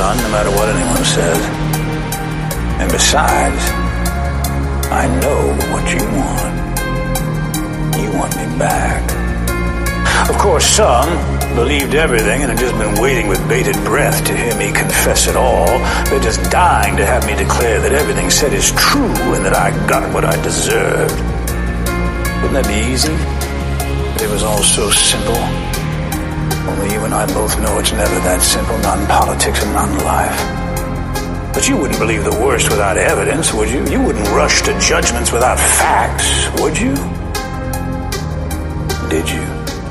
son, no matter what anyone says. And besides, I know what you want. You want me back. Of course, some believed everything and had just been waiting with bated breath to hear me confess it all. They're just dying to have me declare that everything said is true and that I got what I deserved. Wouldn't that be easy? If it was all so simple. Only you and I both know it's never that simple, not in politics and not in life. But you wouldn't believe the worst without evidence, would you? You wouldn't rush to judgments without facts, would you? Did you?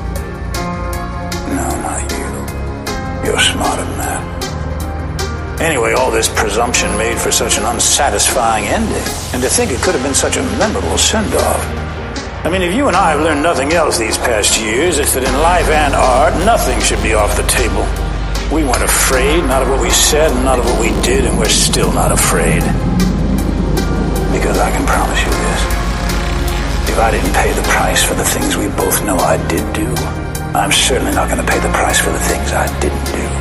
No, not you. You're smarter than that. Anyway, all this presumption made for such an unsatisfying ending. And to think it could have been such a memorable send-off. I mean, if you and I have learned nothing else these past years, it's that in life and art, nothing should be off the table. We weren't afraid, not of what we said, not of what we did, and we're still not afraid. Because I can promise you this. If I didn't pay the price for the things we both know I did do, I'm certainly not going to pay the price for the things I didn't do.